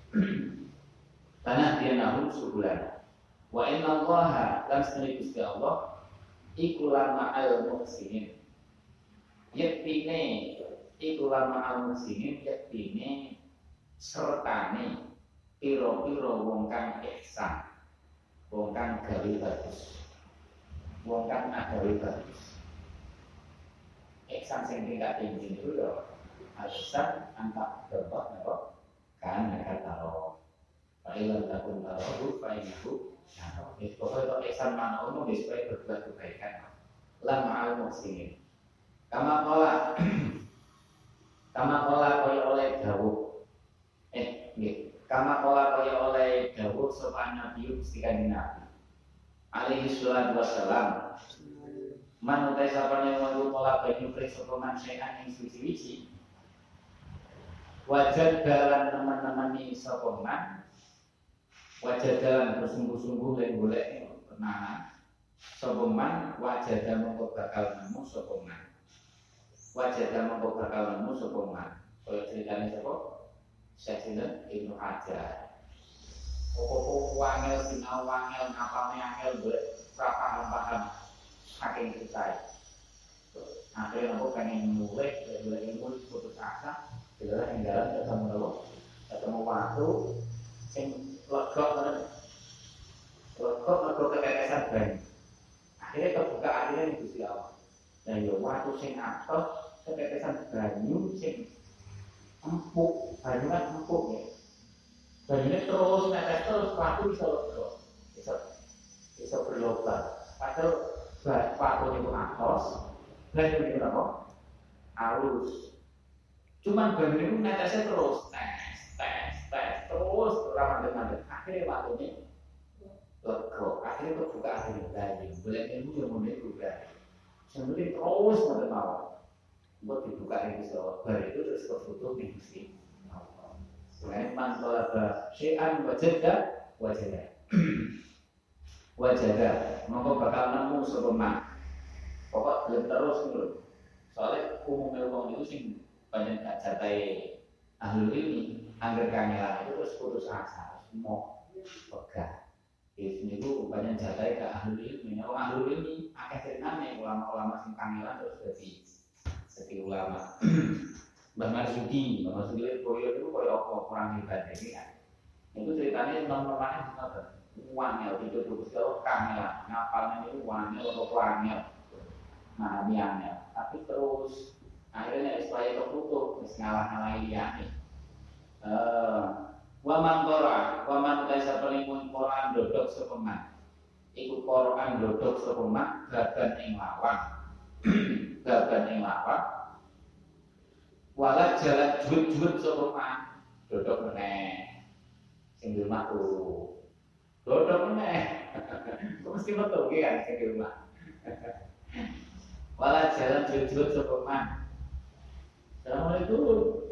Karena dia nahum subulan. Wa inna Allaha lan sendiri Gusti Allah iku lama al muhsinin. Yektine iku lama al muhsinin yektine sertane piro-piro wong kang ihsan, wong kang gawe bagus, wong kang agawe bagus. Ihsan sing tingkat tinggi itu lho. Ihsan antak berbuat napa? Kan nek karo. Paling takun karo painahu. Nah, itu pokoknya ihsan mana umum supaya berbuat kebaikan. La ma'al muhsinin. Kama qala kama qala kaya oleh dawuh. Eh, nggih. Kama qala kaya oleh dawuh sapa Nabi Gusti Kanjeng Nabi. alaihi salatu wassalam man utai sapane wong pola banyu pring sapa man sekan ing suci-suci wajah dalam teman-teman ini sapa man wajah dalam bersungguh-sungguh lan golek tenanan sapa man wajah dalam mongko bakal nemu sapa man wajah dalam mongko bakal nemu sapa man kaya ceritane sapa Syekh Ibnu Hajar pokok wangel sinau wangel ngapalne angel golek paham-paham saking susah. Akhirnya aku pengen mulai, mulai ilmu putus asa, bila yang jalan ketemu lo, ketemu waktu, sing legok kan, legok legok ketetesan banyu. Akhirnya kebuka akhirnya di Gusti Allah. Dan yo waktu sing atos ketetesan banyu sing empuk, banyu kan empuk ya. Banyunya terus netes terus waktu bisa legok, bisa bisa berlubang. Padahal waktu itu atos, banyu itu apa? Halus. Cuman banyu itu netesnya terus, tes, tes, tes, terus ramah-ramah. Akhirnya waktunya lega, akhirnya kebuka akhirnya banyu. Boleh ilmu yang mulai juga. Sebenarnya terus menerima. Buat dibuka yang bisa, baru itu terus kebutuh nih mesti. Selain manfaat syai'an wajadah, wajadah. Wajadah, mongko bakal nemu sapa man. Pokok belum terus ngono. Soale umumnya wong itu sing banyak gak jatai ahli ilmi, angger kangelan itu terus putus asa, semua pegah. Di sini itu banyak jatai ke ahli ilmi. Wong ahli ilmi akeh ceritane ulama-ulama sing kangelan terus dadi dadi ulama. Mbah Marzuki, Mbah Marzuki itu koyo itu koyo apa orang hebat iki kan. Itu ceritanya nomor-nomornya ngoten. Wangel itu terus kalau kangelan, ngapalnya itu wangel atau wangel. Nah, biangnya, tapi terus akhirnya supaya kebutuh, terus ngalah-ngalahin dia nih. Waman Torah, waman kaisa pelingkun Quran dodok sepeman. Ikut Quran dodok sepeman, gagan ing lawan, gagan ing lawan. Walat jalan jut-jut sepeman, dodok meneh, sing di rumah turu, dodok meneh. Kok mesti betul kan sing di rumah. Walat jalan jut-jut sepeman. Assalamualaikum.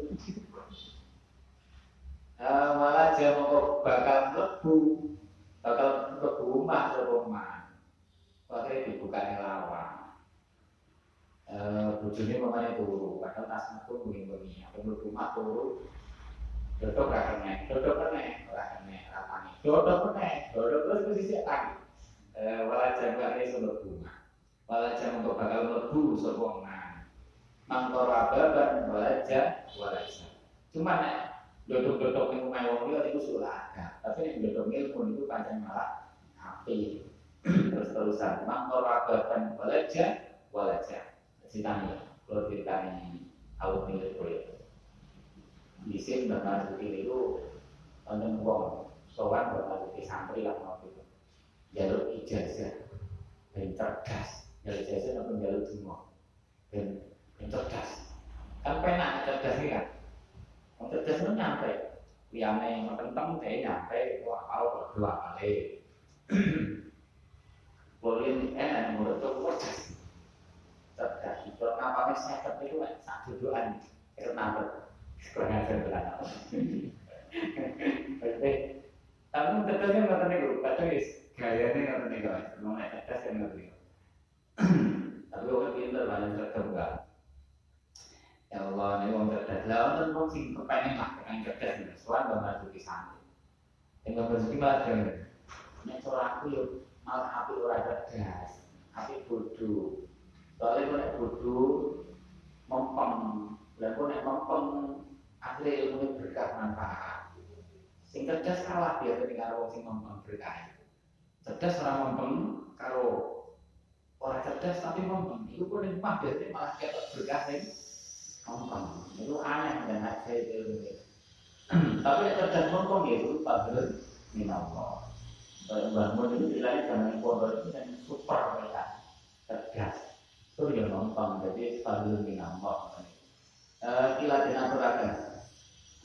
Uh, malah dia mau bakal lebu, bakal lebu rumah sepeman. Akhirnya dibuka yang lawang. Uh, bujurnya mamanya turu, padahal tasnya pun bunyi-bunyi. Apa lebu rumah turu, dodok rakennya, dodok keneh, rakennya, rapanya, dodok keneh, dodok terus posisi lagi. Uh, malah dia bakal lebu rumah, malah dia mau bakal lebu sepeman. Mangkora baban walaja walaja. Cuma nek dodok-dodok yang rumah wong liya itu sulah ada. Tapi nek dodok ilmu itu pancen malah api. Terus-terusan mangkora baban walaja walaja. Ceritanya, kalau ceritanya awal milik kulit. Di sini bakal seperti itu wonten wong sowan bakal di santri lah mau itu. Jalur ijazah dan cerdas. Jalur ijazah apa jalur semua. Dan cerdas, kan penak cerdas ini kan, cerdas itu nyampe, liane menteng-menteng deh nyampe, wah kalau berdua kali, boleh enak menurut aku cerdas, cerdas. Kalau apa nih saya itu saat dudukan, itu nambah, kurang ajar belakang. Tapi cerdasnya nggak tahu nih, tapi gayanya nggak tahu nih guys, mau cerdas kan nggak tahu. Tapi orang pintar banyak cerdas enggak. Ya Allah, ini orang cerdas. Lah orang orang sing kepengen lah dengan cerdas ini. Soalnya nggak masuk di sana. Yang nggak masuk malah jangan. Nek soal aku yuk malah api orang cerdas, api bodoh. Soalnya kalau nek bodoh mempeng, dan kalau nek mempeng akhirnya ilmu berkah manfaat. Sing cerdas kalah biasa dengan orang sing mempeng berkah. Cerdas orang mempeng karo orang cerdas tapi mempeng. Itu pun yang biasanya malah kita berkah ini. Ngomong, itu aneh dan hak saya itu. Tapi yang cerdas ngomong itu fadlun minallah. Bangun itu bilangnya dengan kodok itu yang super mereka cerdas. Itu dia ngomong, jadi fadlun minallah. Kila dinaturakan.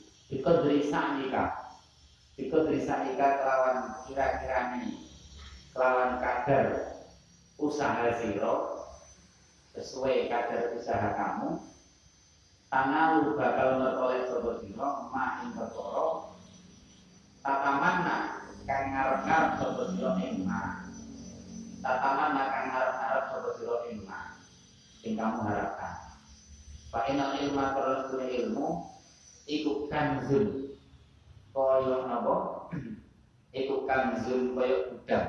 Ikut derisa nikah, ikut derisa nikah kelawan kira-kira ini, kelawan kadar usaha siro sesuai kadar usaha kamu tanah lu bakal meroleh sopo siro ma ing perkara tatamanna kang ngarep-ngarep sopo siro ing ma tatamanna kang ngarep-ngarep sopo siro ing ma sing kamu harapkan. Fa inal ilma terus ilmu iku kanzun kaya napa iku kanzun kaya gudang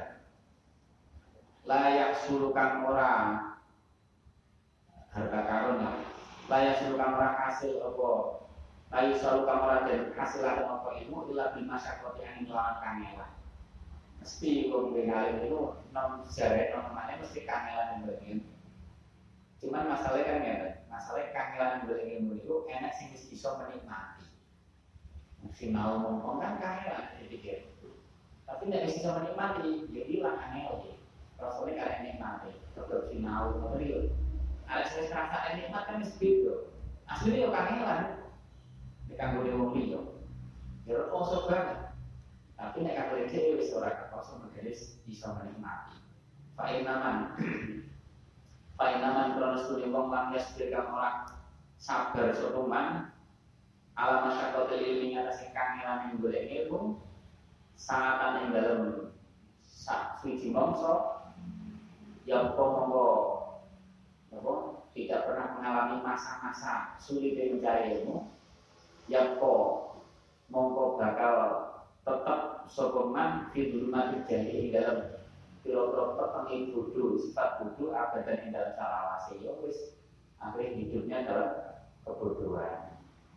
layak sulukan ora harta karun layak sulukan ora hasil apa layak sulukan ora dan hasilan apa ilmu ila bima syakoti angin lawan kangelan mesti wong ngalim itu nom jare nom mane mesti kangelan mbengin cuman masalahnya kan ya masalahnya kangelan mbengin itu enak sing wis iso menikmati sinau ngomong kan kangelan dipikir tapi nek wis iso menikmati ya ilang angel rasulnya kalian nikmati, terus sinau, material. Ada saya serasa nikmat kan segitu. Aslinya yo kangelan, dikanggul di wong liya. Jadi kosong banget. Tapi nek kanggul dia wis ora kosong menjadi bisa menikmati. Fainaman, fainaman kronos kuning wong lang yasbir kang ora sabar sopeman. Alam masyarakat ilmi atas kangelan yang boleh ilmu, sangat yang dalam sak suci mongso. Yang monggo apa tidak pernah mengalami masa-masa sulit mencari ilmu yang kok monggo bakal tetap sopeman di rumah terjadi dalam kira-kira petengin bodoh sifat bodoh abadan yang dalam salawase ya wis akhirnya hidupnya dalam kebodohan.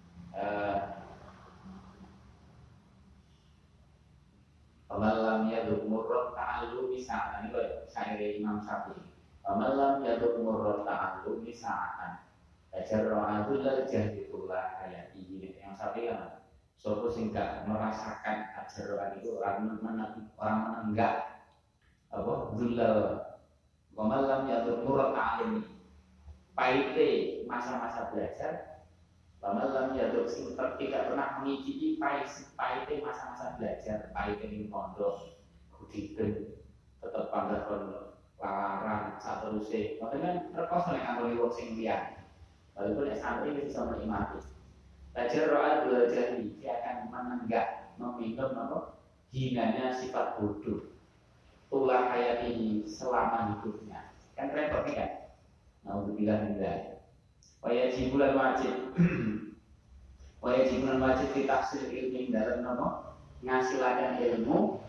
Pemalam yaduk murrot ta'allu misa'an ini loh syairi Imam Syafi'i. Pemalam yaduk murrot ta'allu misa'an ajarro'adul jahitullah ayat ini yang Syafi'i kan sopo singkat merasakan ajarro'ad itu orang orang menenggak apa zulal. Pemalam yaduk murrot ta'allu pahite masa-masa belajar. Pemalam jatuh sing tidak pernah mengicipi pahit pahitnya masa-masa belajar, pahitnya di pondok, kudiben, tetap panggah pondok, larang, satu rusik. Makanya terkos oleh anggota wong sing liyan. Walaupun yang santri bisa menikmati. Belajar roa belajar ini dia akan menenggak, meminum apa hinanya sifat bodoh. Tulah hayat ini selama hidupnya. Kan repot kan? Nauzubillah min dzalik. Wajib bulan wajib, wajib bulan wajib ditafsir ilmu dalam nama ngasilakan ilmu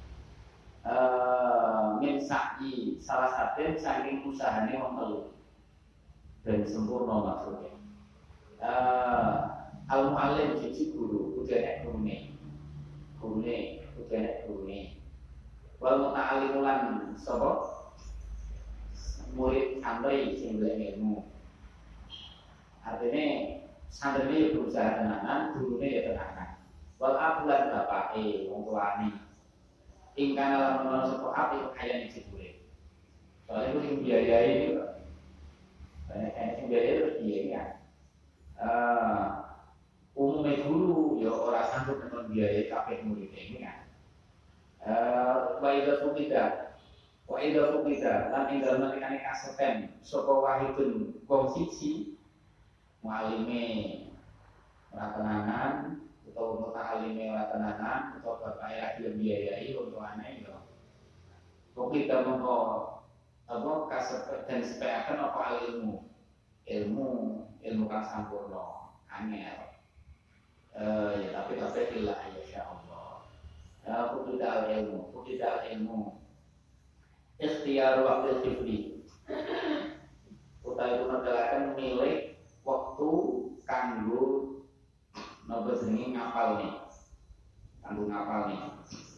uh, min sa'i salah satu saking usahanya wong telu dan sempurna maksudnya. Uh, al muallim siji guru, udah nek gurune, gurune, udah nek gurune. Wal muta'allimulan sapa murid santri sing ilmu. Artinya santri ini berusaha tenanan, gurunya ya tenanan. Wal abulan bapake wong tuane. Ingkang lamun ana sapa api kaya iki boleh. Soale itu sing biayai iki kok. Banyak yang sing biayai terus biayai kan. Eh umumnya guru ya ora sanggup dengan biayai kabeh murid ini kan. Eh wa idza fuqida wa idza fuqida lan ing dalem nekane kaseten sapa wahidun wong siji mualime ora tenanan utawa muta'alime ora tenanan utawa bapake lagi biayai untuk aneh yo. Kok kita mongko apa kasep dan sepeaken apa ilmu. Ilmu ilmu kang sampurna angel. Eh ya tapi tapi billah ya Allah. Ya aku tidak ilmu, aku tidak ilmu. Ikhtiar waktu tifli. Utawi menegakkan milik waktu kanggo nopo jenenge ngapal nih, kanggo ngapal nih.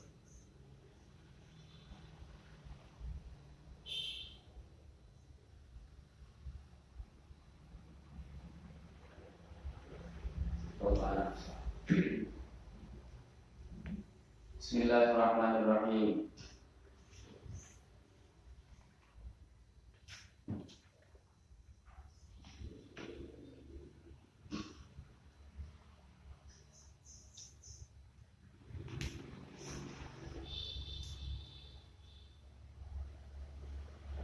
Bismillahirrahmanirrahim.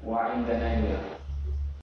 wa indana ilmu.